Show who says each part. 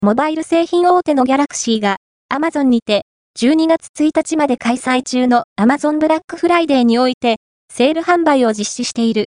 Speaker 1: モバイル製品大手のギャラクシーが、Amazon にて、12月1日まで開催中の Amazon ブラックフライデーにおいて、セール販売を実施している